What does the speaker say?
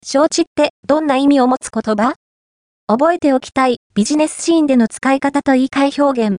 承知ってどんな意味を持つ言葉？覚えておきたいビジネスシーンでの使い方と言い換え表現。